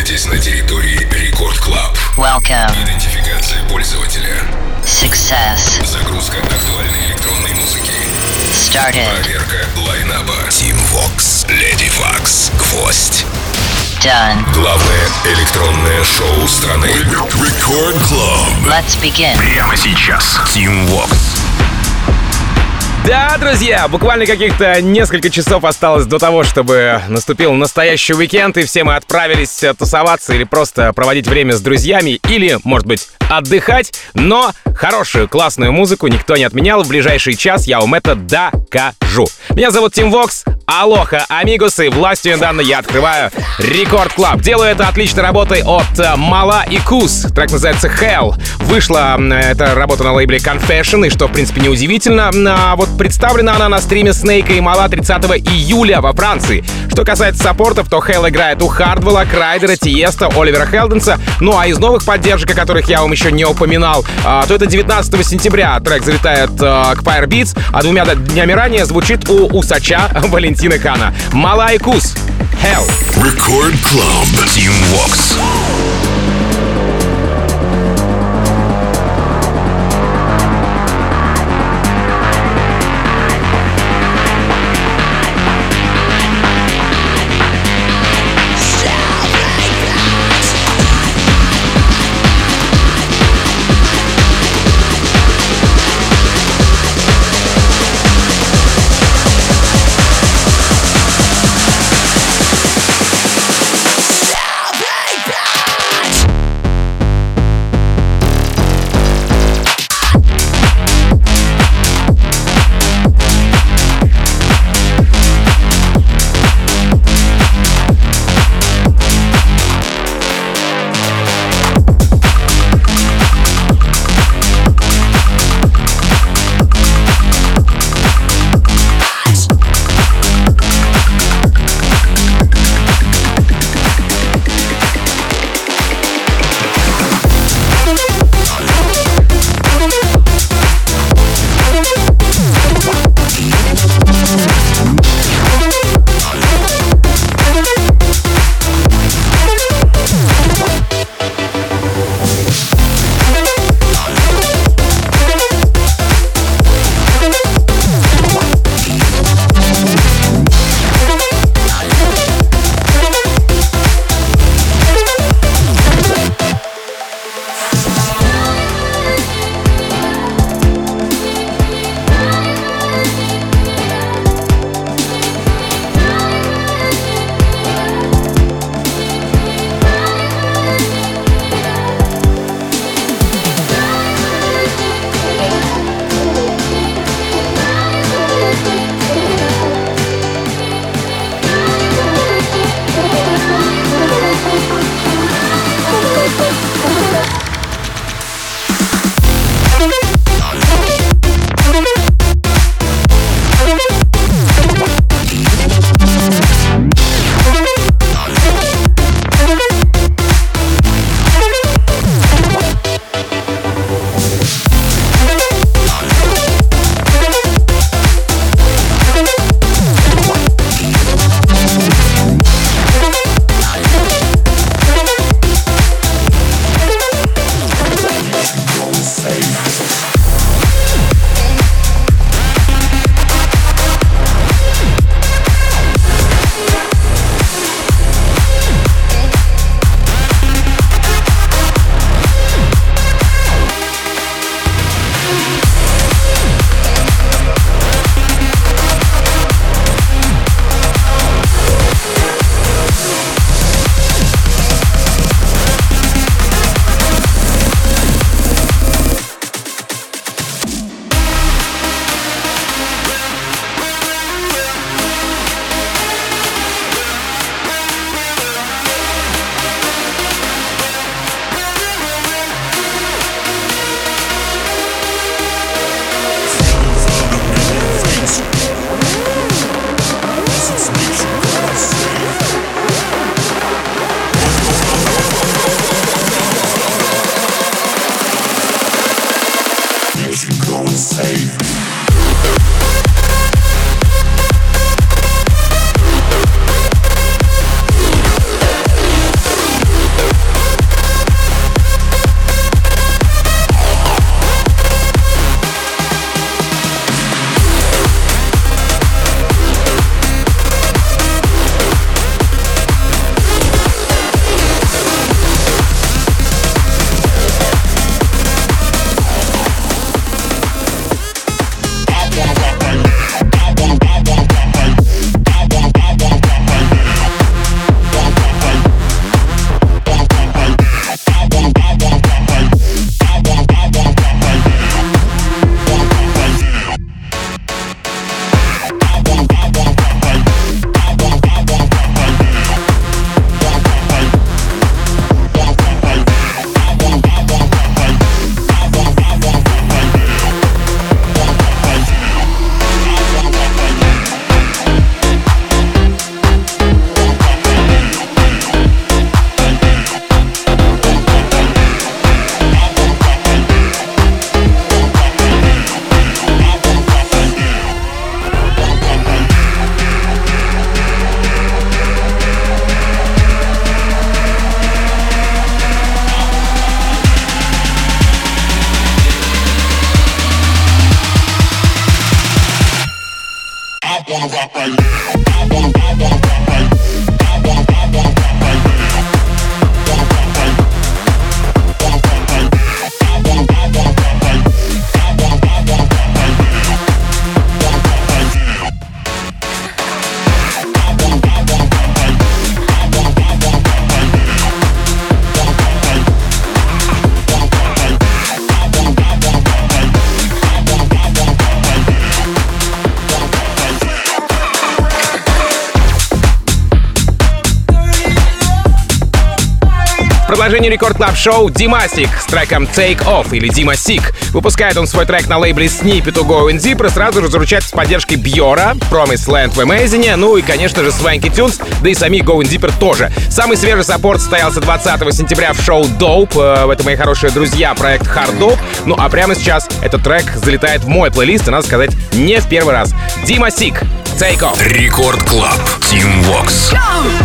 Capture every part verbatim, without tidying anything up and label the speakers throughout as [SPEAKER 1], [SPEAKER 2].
[SPEAKER 1] находитесь на территории Рекорд Клаб.
[SPEAKER 2] Welcome.
[SPEAKER 1] Идентификация пользователя.
[SPEAKER 2] Success.
[SPEAKER 1] Загрузка актуальной электронной музыки.
[SPEAKER 2] Started.
[SPEAKER 1] Проверка лайнаба. Team Vox, Lady Vox, Гвоздь.
[SPEAKER 2] Done.
[SPEAKER 1] Главное электронное шоу страны. Рекорд Клаб.
[SPEAKER 2] Let's begin.
[SPEAKER 1] Прямо сейчас. Team Vox.
[SPEAKER 3] Да, друзья, буквально каких-то несколько часов осталось до того, чтобы наступил настоящий уикенд, и все мы отправились тусоваться или просто проводить время с друзьями, или, может быть, отдыхать, но хорошую, классную музыку никто не отменял. В ближайший час я вам это докажу. Меня зовут Тим Вокс. Алоха, амигусы, властью данной я открываю Рекорд Клаб. Делаю это отличной работой от Мала и Кус. Трек называется Hell. Вышла эта работа на лейбле Confession, и что, в принципе, неудивительно. А вот представлена она на стриме Снейка и Мала тридцатого июля во Франции. Что касается саппортов, то Hell играет у Хардвелла, Крайдера, Тиеста, Оливера Хелденса. Ну а из новых поддержек, о которых я вам еще не упоминал, то это девятнадцатого сентября трек залетает к Fire Beats, а двумя днями ранее звучит у Усача Валентина Кана. Мала и Кус. Hell.
[SPEAKER 1] Record Club. Team Vox.
[SPEAKER 4] Bye.
[SPEAKER 3] продолжение Рекорд Клаб Шоу Димасик с треком Take Off или Димасик. Выпускает он свой трек на лейбле Snippet to Go in Deep и сразу же заручается с поддержкой Бьора, Promised Land в Amazing, ну и, конечно же, Swanky Tunes, да и сами Go in Deeper тоже. Самый свежий саппорт состоялся двадцатого сентября в шоу Dope. Это, мои хорошие друзья, проект Hard Dope. Ну а прямо сейчас этот трек залетает в мой плейлист, и, надо сказать, не в первый раз. Димасик, Take Off.
[SPEAKER 1] Рекорд Клаб, Team Vox.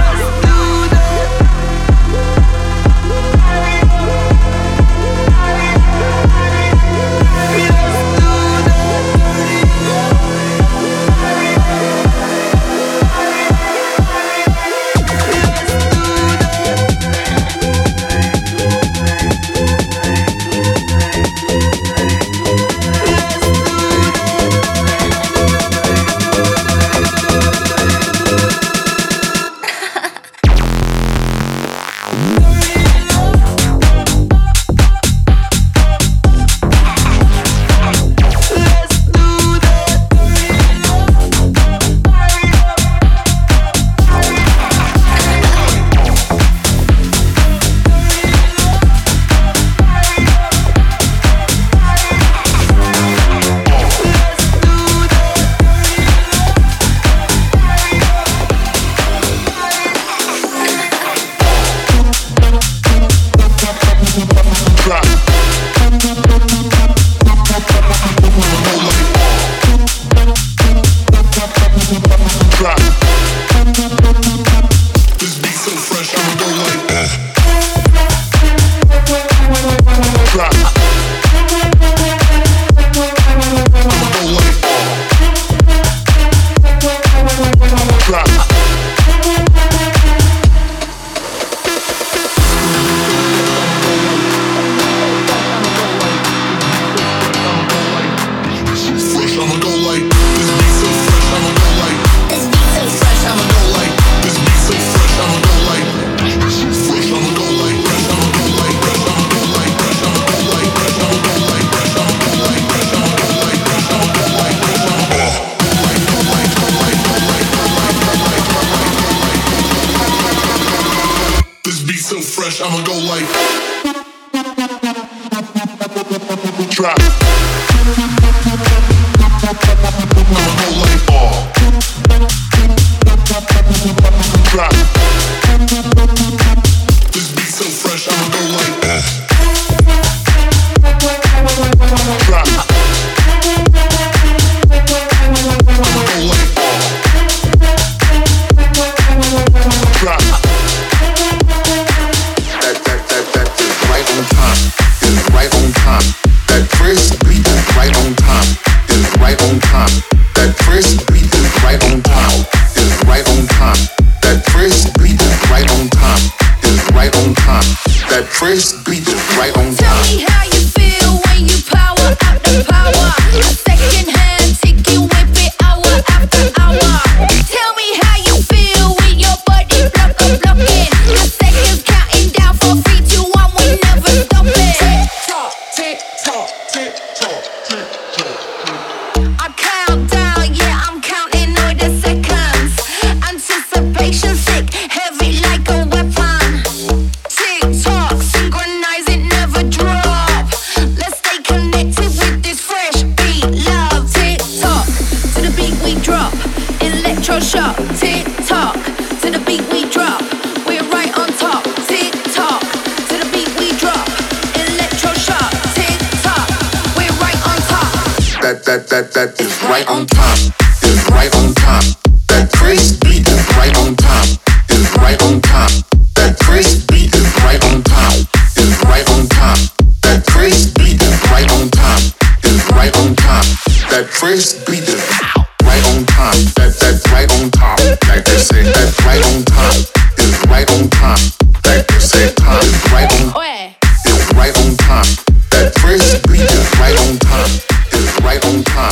[SPEAKER 4] I'ma go like drop. I'ma go like ball. Drop. This beat so fresh. I'ma go like drop. I'ma go like ball. Drop. Right on time, that first beat is right on time, is right on time. That first beat is right on time, is right on time. That first beat is right on time, is right on time. That first beat is right on time.
[SPEAKER 5] Tell me how you feel when you power out the power. A second hand ticket whip it hour after hour. Tell me how you feel when your body block up blocking. The seconds counting down for three, two, one, we never stop it. Tick tock, tick tock, tick tock. I count down, yeah, I'm counting all the seconds. Anticipation sick, heavy like a weapon. Tick tock, synchronize it, never drop. Let's stay connected with this fresh beat, love. Tick tock, to the beat we drop. Electroshock, tick tock, to the beat we drop. We're right on top. Tick tock, to the beat we drop. Electroshock.
[SPEAKER 4] That, that, that, that is right on time, is right on time. That first beat is right on time, is right on time. That first beat is right on time, is right on time. That first beat is right on time, is right on time. That first beat is right on time, that, that's right on top. Like they say, that's right on time, is right on time. Like they say, time is right on, is right on time. That first beat is right on time. Right on time.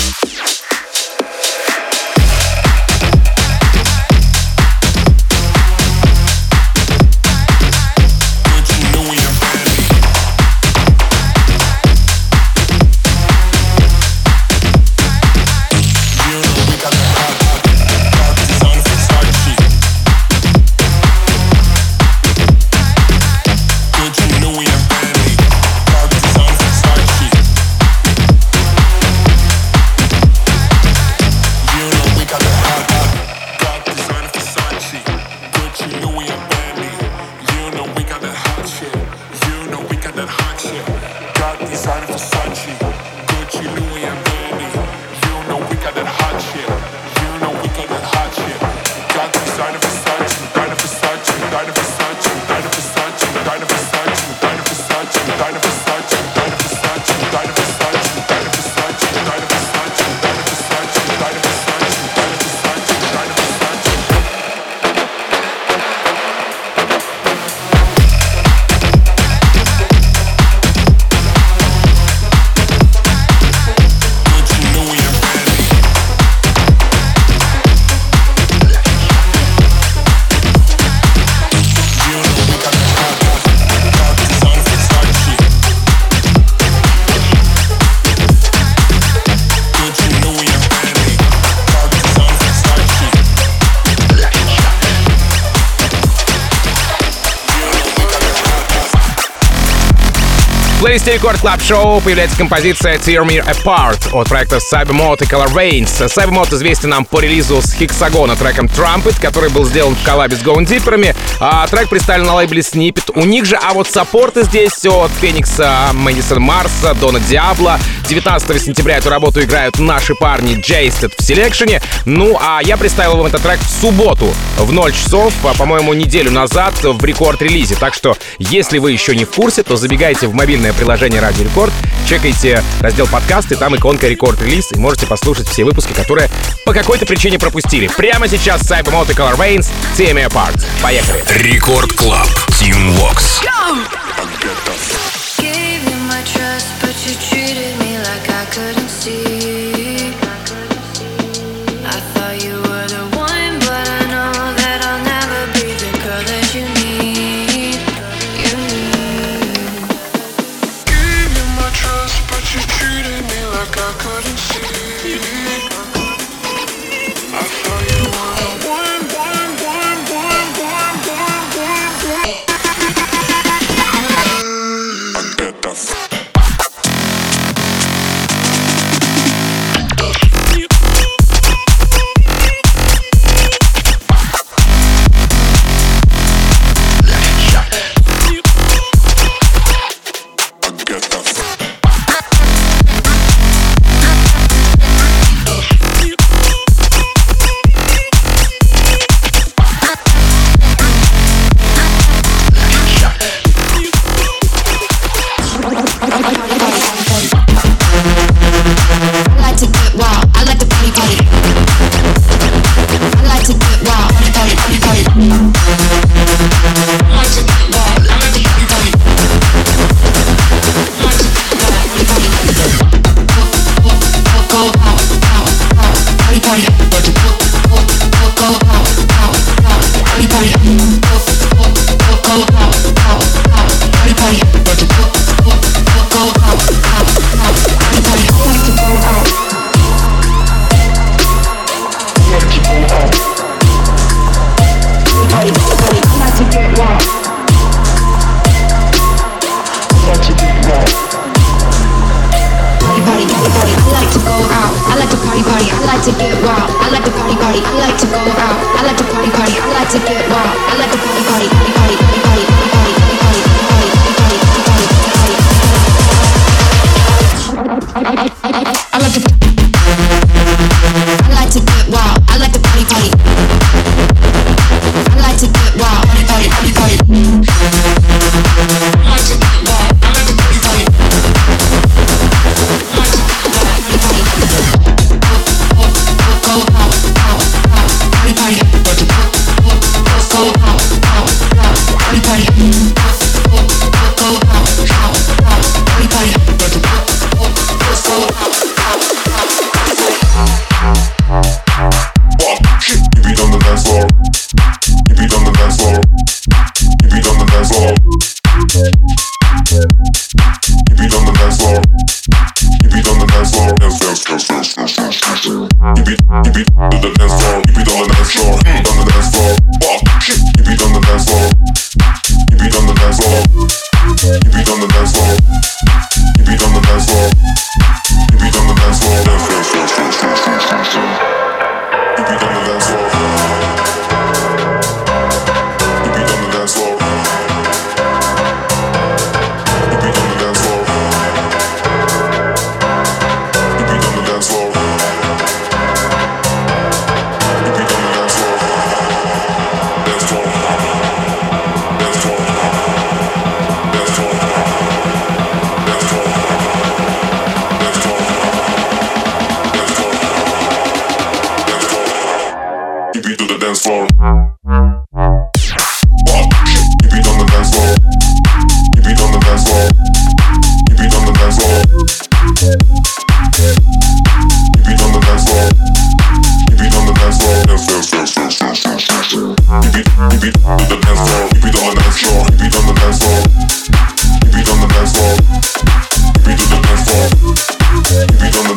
[SPEAKER 3] В плейлисте Рекорд Клаб Шоу появляется композиция Tear Me Apart от проекта Cybermod и Color Veins. Cybermod известен нам по релизу с Hexagona треком Trumpet, который был сделан в коллабе с Going Deeper'ами, а трек представлен на лейбле Snippet. У них же, а вот саппорты здесь от Феникса, Мэдисон Марса, Дона Диабло. девятнадцатого сентября эту работу играют наши парни Jasted в селекшене. Ну, а я представил вам этот трек в субботу в ноль часов, по-моему, неделю назад в рекорд-релизе. Так что, если вы еще не в курсе, то забегайте в мобильное приложение Радио Рекорд, чекайте раздел подкасты, там иконка рекорд-релиз, и можете послушать все выпуски, которые по какой-то причине пропустили. Прямо сейчас Cybermod и Color Veins, Tear Me Apart. Поехали.
[SPEAKER 1] Рекорд Клаб, Team Vox.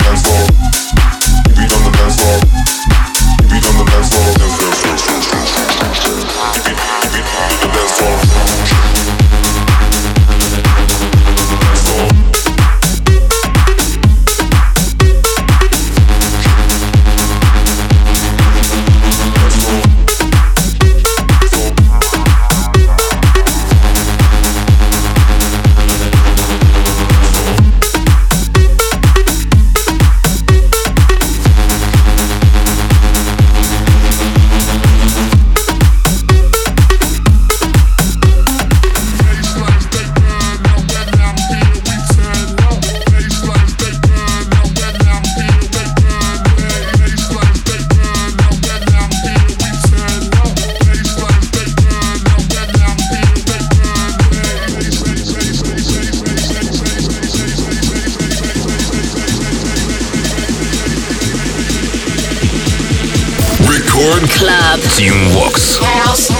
[SPEAKER 4] We'll be on the dance floor.
[SPEAKER 2] Club.
[SPEAKER 1] Team Vox.
[SPEAKER 5] House.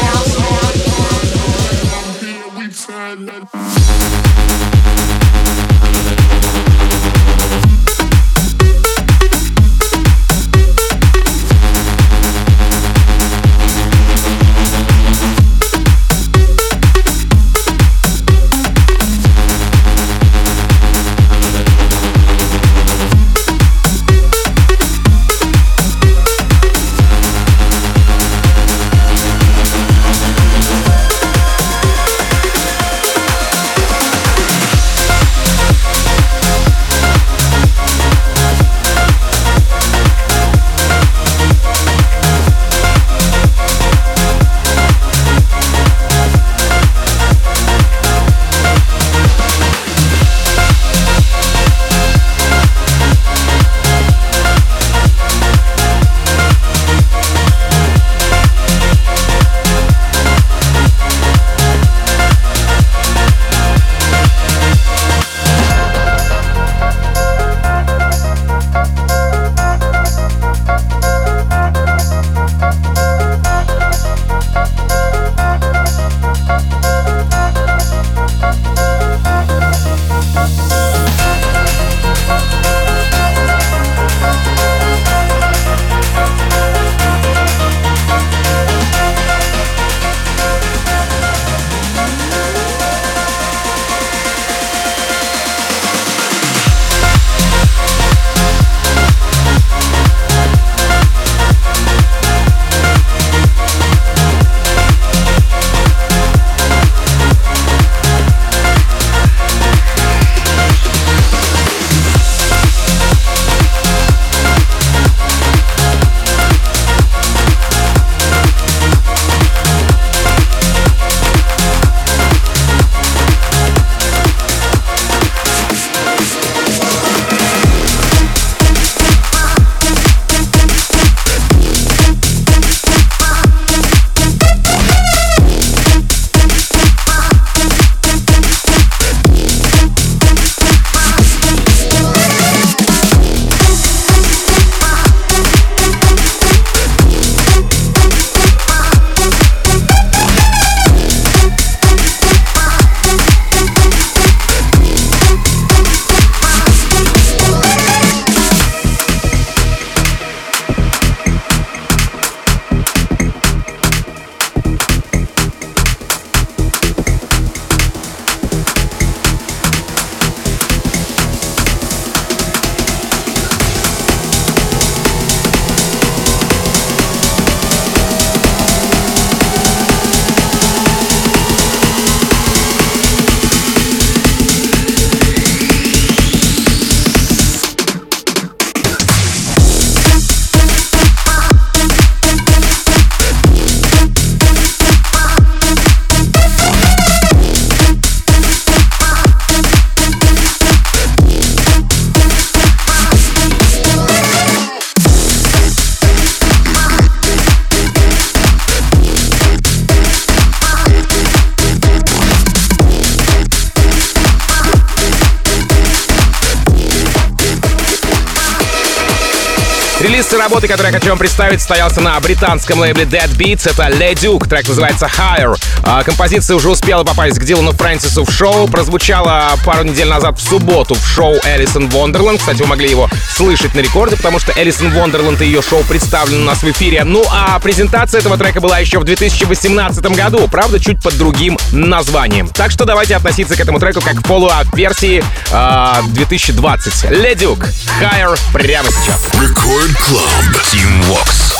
[SPEAKER 3] Релиз работы, которую я хочу вам представить, состоялся на британском лейбле Dead Beats. Это Leduc, трек называется Higher. А, композиция уже успела попасть к Дилану Фрэнсису в шоу. Прозвучала пару недель назад в субботу в шоу Элисон Вондерленд. Кстати, вы могли его слышать на рекорде, потому что Элисон Вондерленд и ее шоу представлены у нас в эфире. Ну а презентация этого трека была еще в две тысячи восемнадцатом году, правда, чуть под другим названием. Так что давайте относиться к этому треку как к follow-up версии э, две тысячи двадцать. Leduc, Higher прямо сейчас.
[SPEAKER 1] Record Club. Team Vox.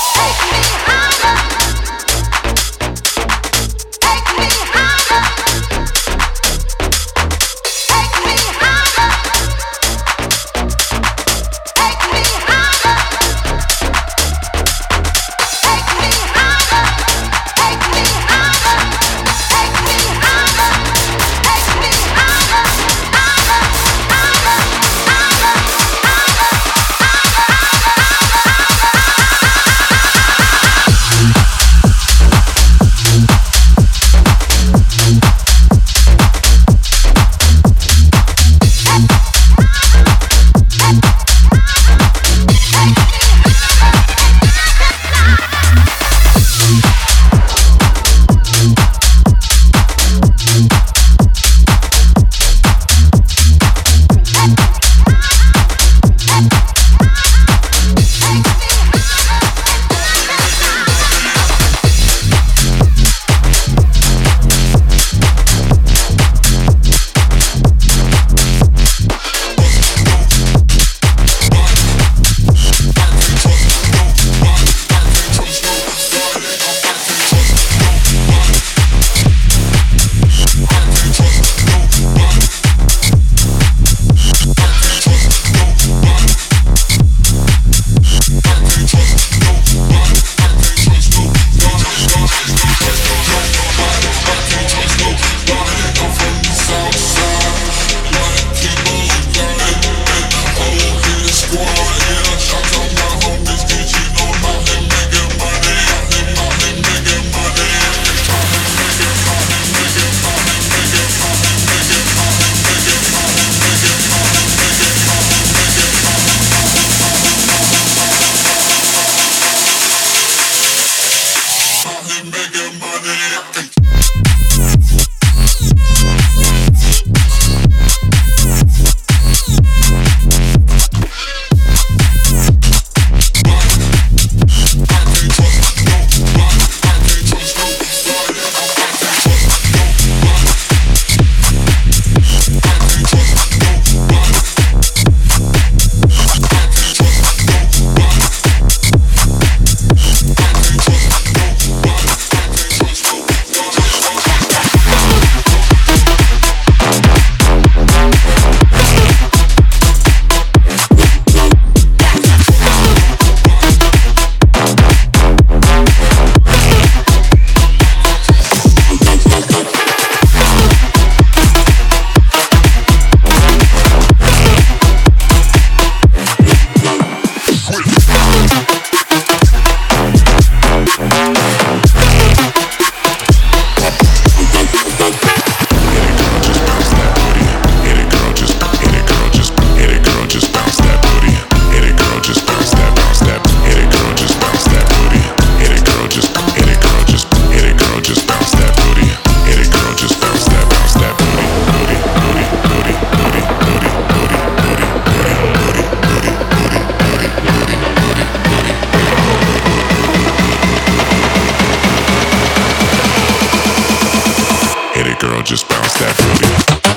[SPEAKER 1] bounce that booty.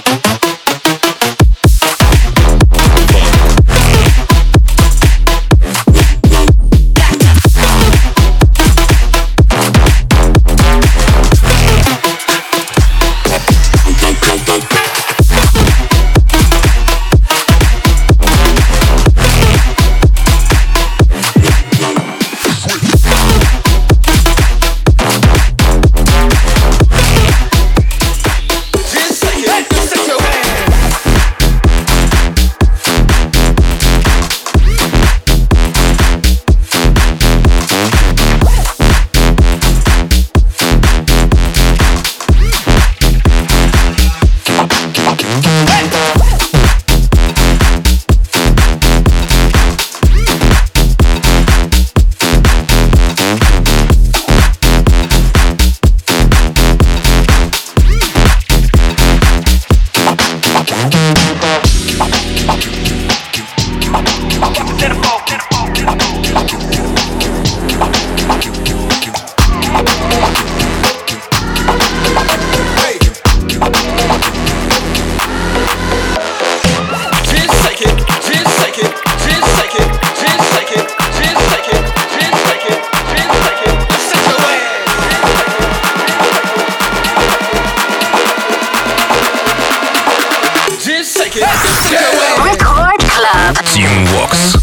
[SPEAKER 2] Record Club.
[SPEAKER 1] Team Vox.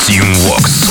[SPEAKER 1] Team Vox.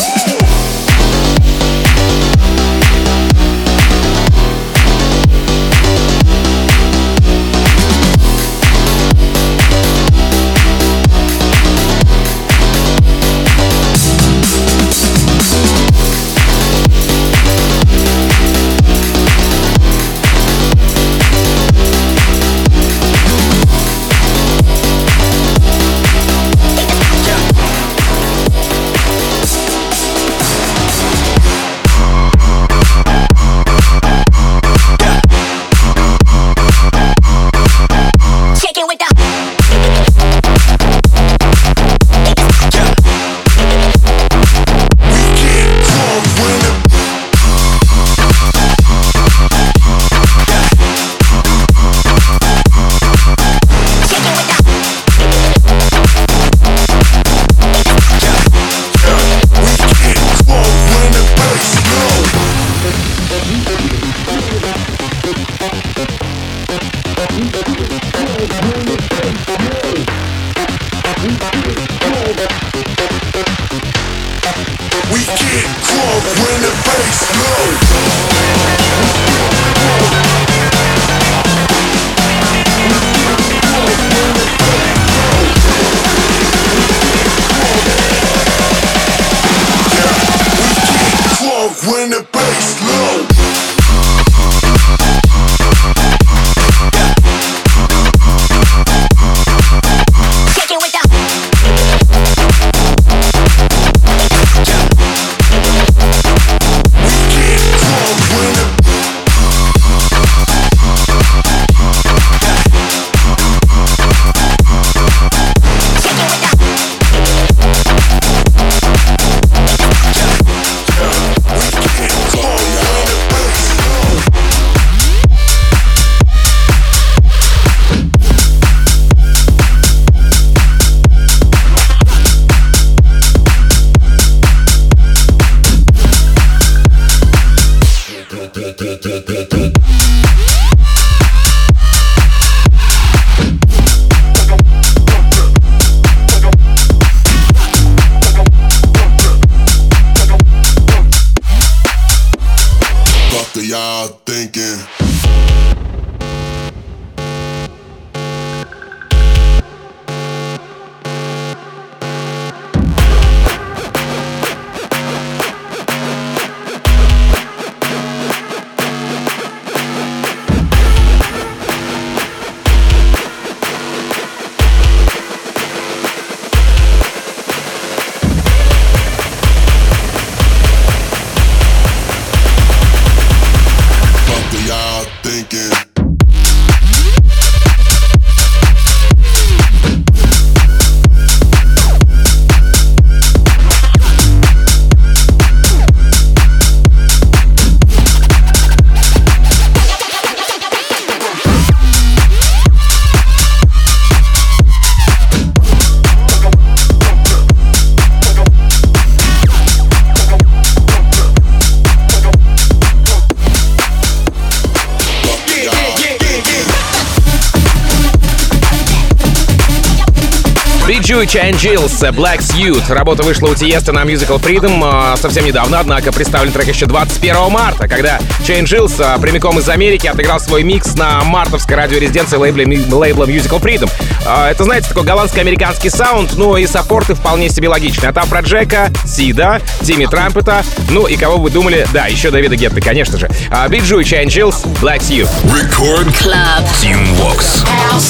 [SPEAKER 3] Chai and Gills, Black Suit. Работа вышла у Тиеста на Musical Freedom совсем недавно, однако представлен трек еще двадцать первого марта, когда Chai and Gills прямиком из Америки отыграл свой микс на мартовской радиорезиденции лейбла, лейбла Musical Freedom. Это, знаете, такой голландско-американский саунд, ну и саппорты вполне себе логичные. От Афроджека, Сида, Тимми Трампета, ну и кого вы думали? Да, еще Дэвида Гетты, конечно же. Биджу и Chai and Gills, Black Suit.
[SPEAKER 1] Record Club Team Vox.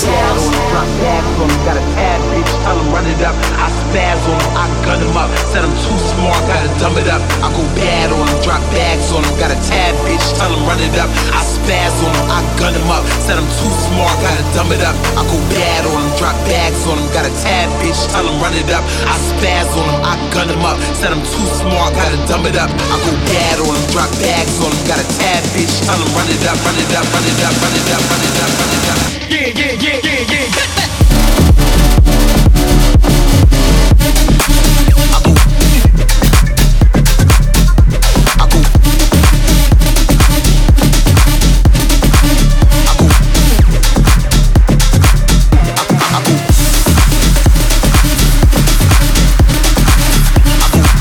[SPEAKER 6] Tell them run it up, I spaz on them, I gun them up. Said I'm too smart, gotta dumb it up. I go bad on them, drop bags on them. Got a tad bitch, tell them run it up. I spaz on them, I gun them up. Said I'm too smart, gotta dumb it up. I go bad on them, drop bags on them. Got a tad bitch, tell them run it up. I spaz on them, I gun them up. Said I'm too smart, gotta dumb it up. I go bad on them, drop bags on them. Got a tad bitch, tell them run it up, run it up, run it up, run it up, run it up, run it up. Yeah, yeah, yeah, yeah, yeah.
[SPEAKER 4] I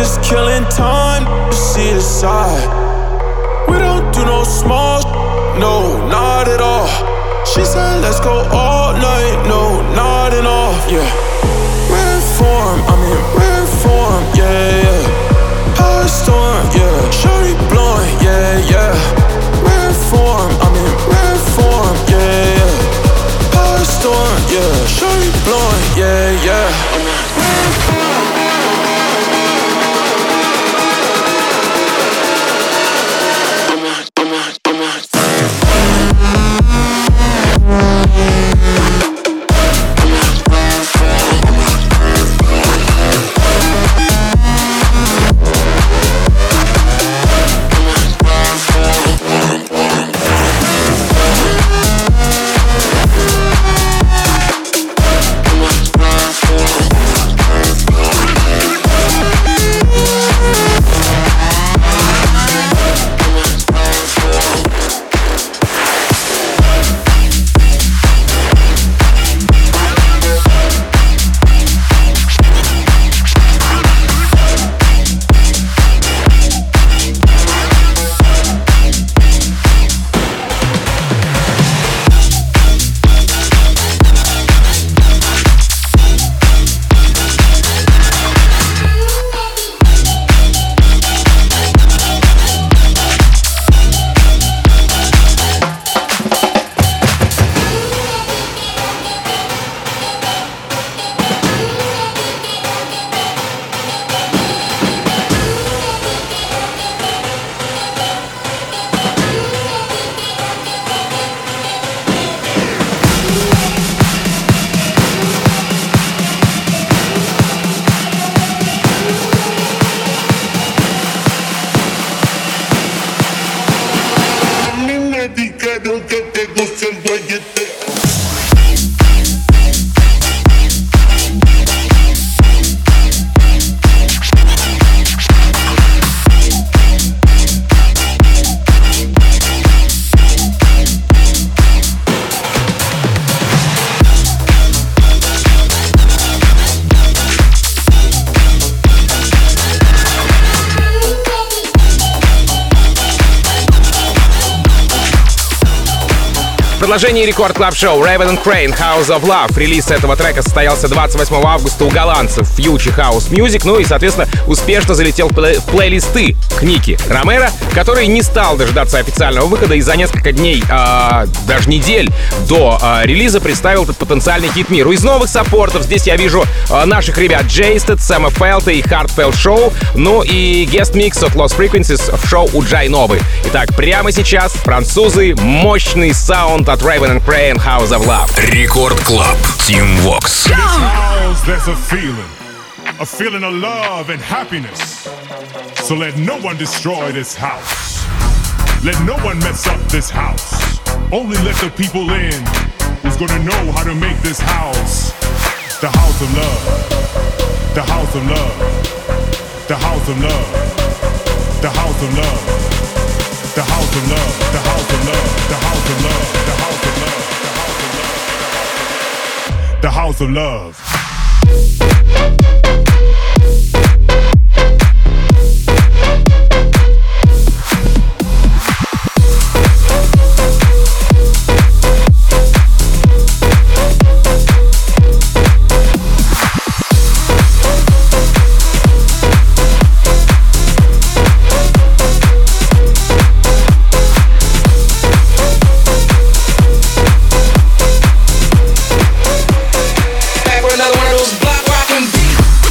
[SPEAKER 7] just killing time to see the side. We don't do no small, no, not at all. She said let's go all night, no, nodding off, yeah. Rare form, I mean rare form, yeah, yeah. Power storm, yeah. Shorty blowing, yeah, yeah. Rare form, I mean rare form, yeah, yeah. Power storm, yeah. Shorty blowing, yeah, yeah. Rare form.
[SPEAKER 3] Продолжение Рекорд Клаб Шоу Raven and Crane House of Love. Релиз этого трека состоялся двадцать восьмого августа у голландцев Future House Music, ну и, соответственно, успешно залетел в, плей- в плейлисты к Ники Ромеро, который не стал дожидаться официального выхода и за несколько дней, э, даже недель до э, релиза представил этот потенциальный хит миру. Из новых саппортов здесь я вижу э, наших ребят Джейстед, Сэма Фелта и Heartfelt Show, ну и guest mix от Lost Frequencies в шоу у Джай Новы. Итак, прямо сейчас французы, мощный саунд от Raven and Crane House of Love.
[SPEAKER 1] Рекорд Клаб. Team Vox.
[SPEAKER 8] In this house, there's a feeling, a feeling of love and happiness. So let no one destroy this house. Let no one mess up this house. Only let the people in who's gonna know how to make this house the house of love. The house of love. The house of love. The house of love. The house of love, the house of love, the house of love, the house of love, the house of love.
[SPEAKER 9] Another one of those block rockin' beats.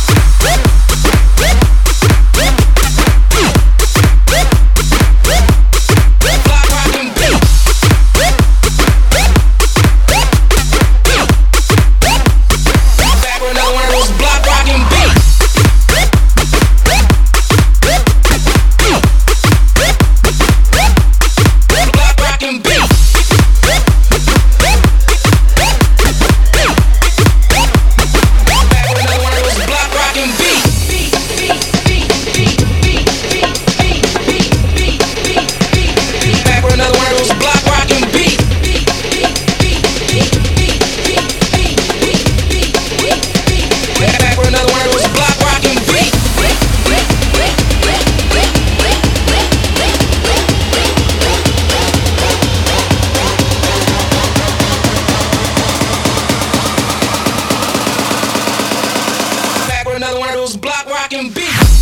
[SPEAKER 6] another one of those block rockin' beats.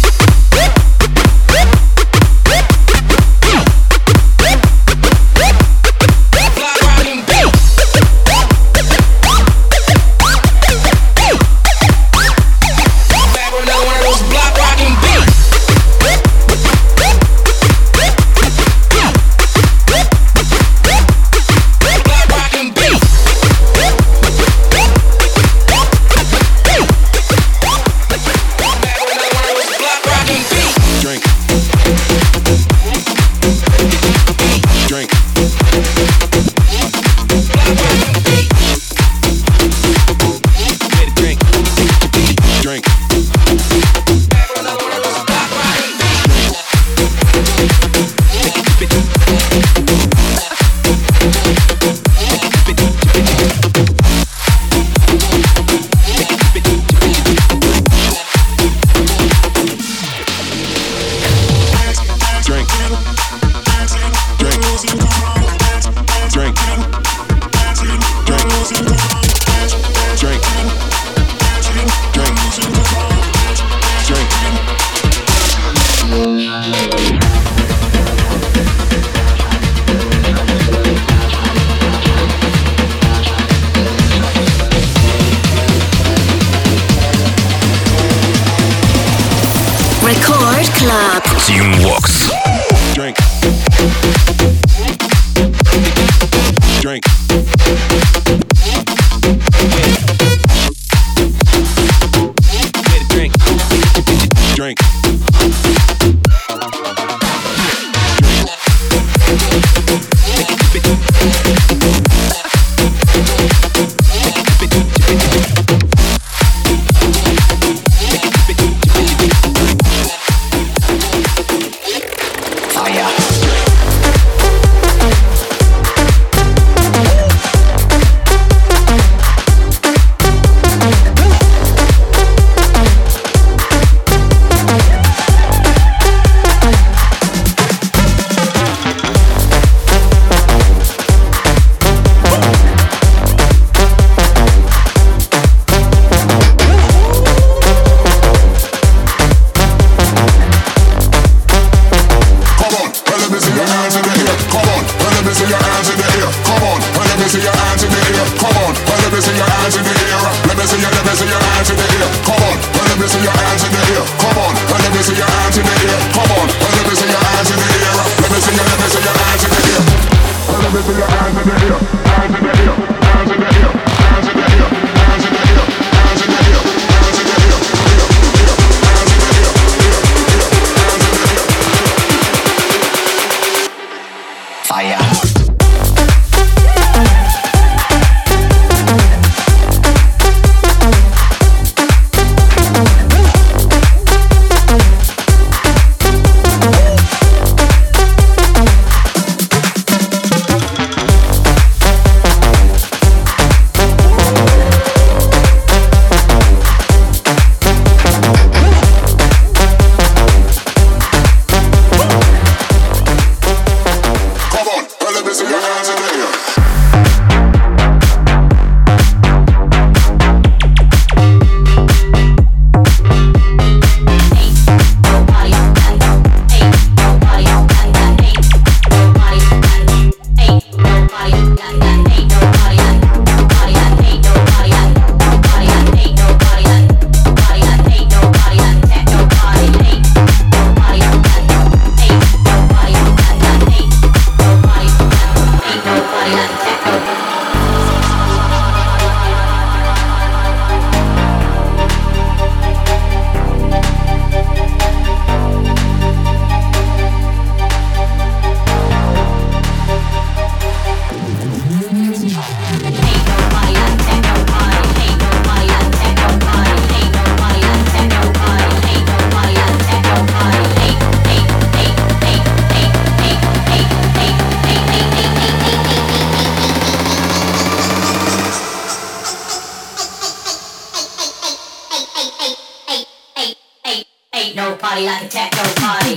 [SPEAKER 9] party like a techno party.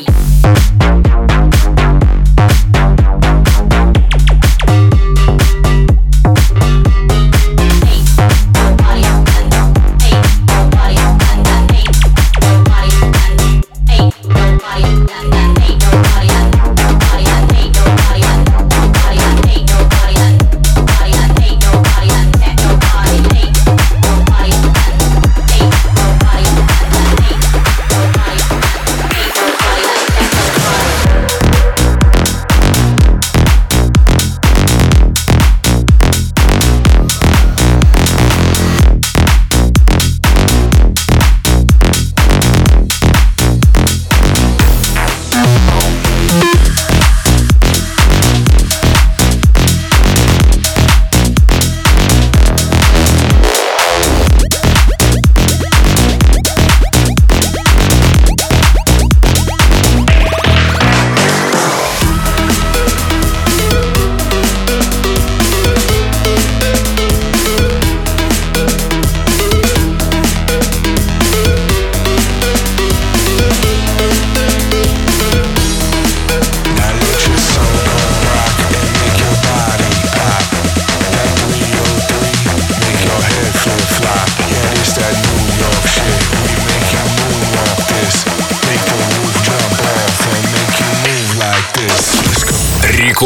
[SPEAKER 9] Hey, nobody, hey, nobody, hey.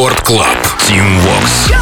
[SPEAKER 1] Рекорд Клаб. Team Vox.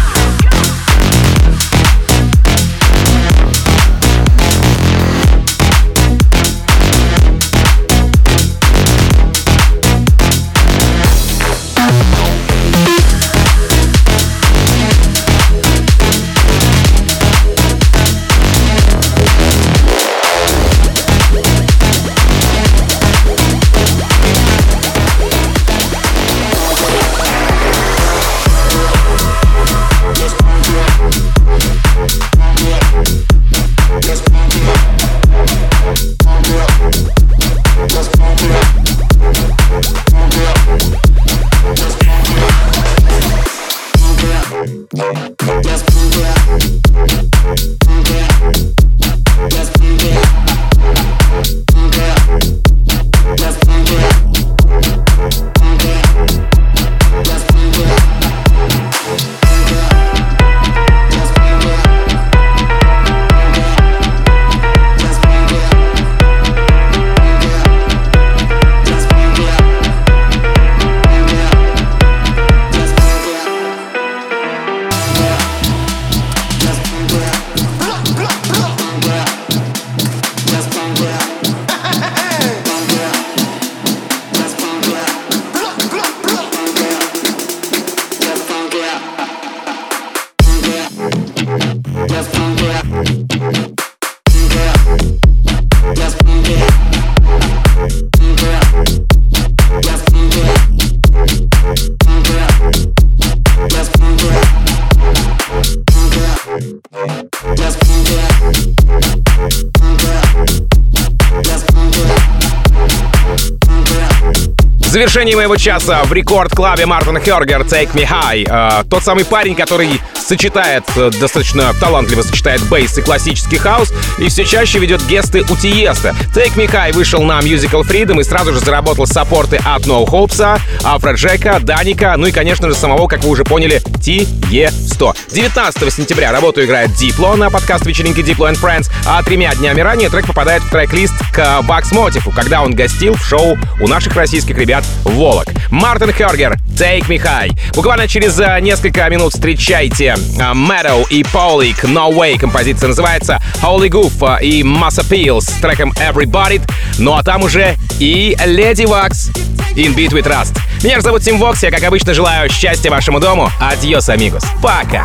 [SPEAKER 3] В завершении моего часа в рекорд-клабе Мартин Хёргер «Take Me High». Э, тот самый парень, который сочетает, э, достаточно талантливо сочетает бейс и классический хаус, и все чаще ведет гесты у Тиеста. «Take Me High» вышел на Musical Freedom и сразу же заработал саппорты от No Hopes, Афроджека, Даника, ну и, конечно же, самого, как вы уже поняли, Тиесто. девятнадцатого сентября работу играет Diplo на подкаст вечеринки Diplo and Friends, а тремя днями ранее трек попадает в трек-лист к Бакс Мотиву, когда он гостил в шоу у наших российских ребят Волок. Мартин Хёргер, Take Me High. Буквально через uh, несколько минут встречайте uh, Meadow и Paulik, No Way. Композиция называется Holy Goof uh, и Mass Appeal с треком Everybody. Ну а там уже и Lady Vox, In Beat We Trust. Меня же зовут Team Vox, я, как обычно, желаю счастья вашему дому. Адьос, амигос. Пока.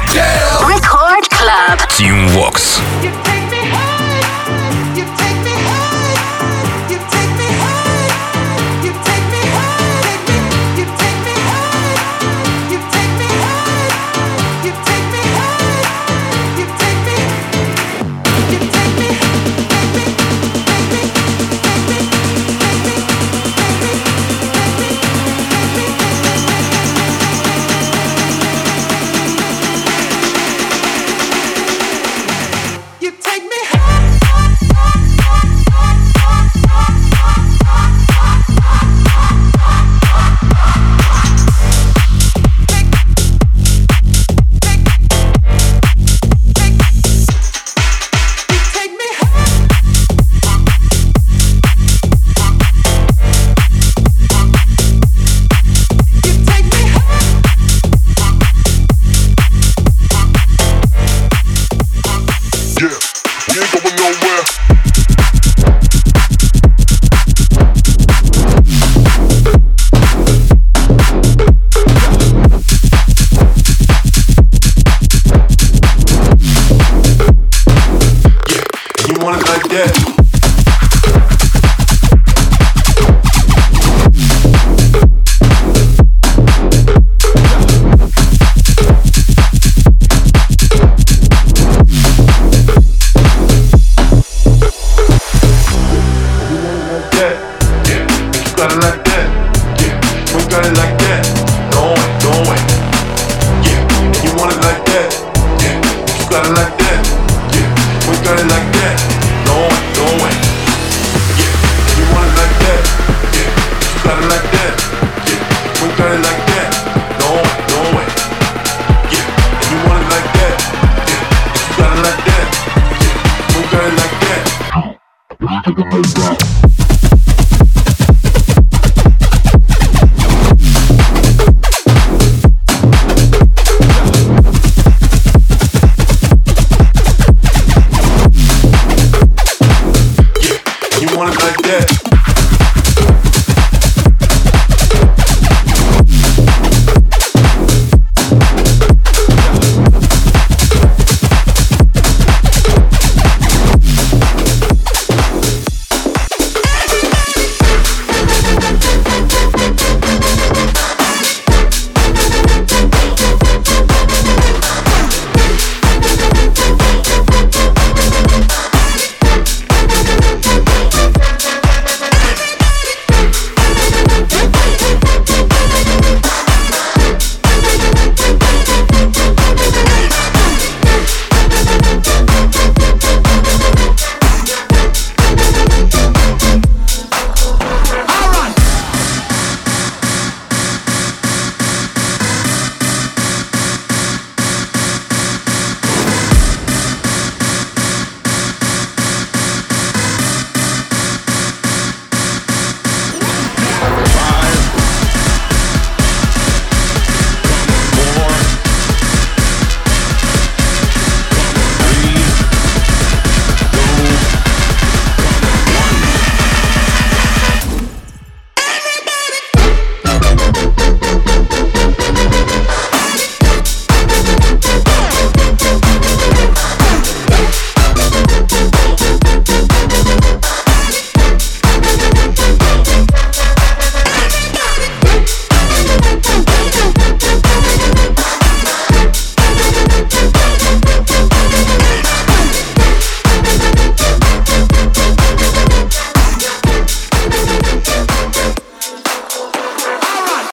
[SPEAKER 2] Record Club.
[SPEAKER 1] Team Vox.
[SPEAKER 7] like that.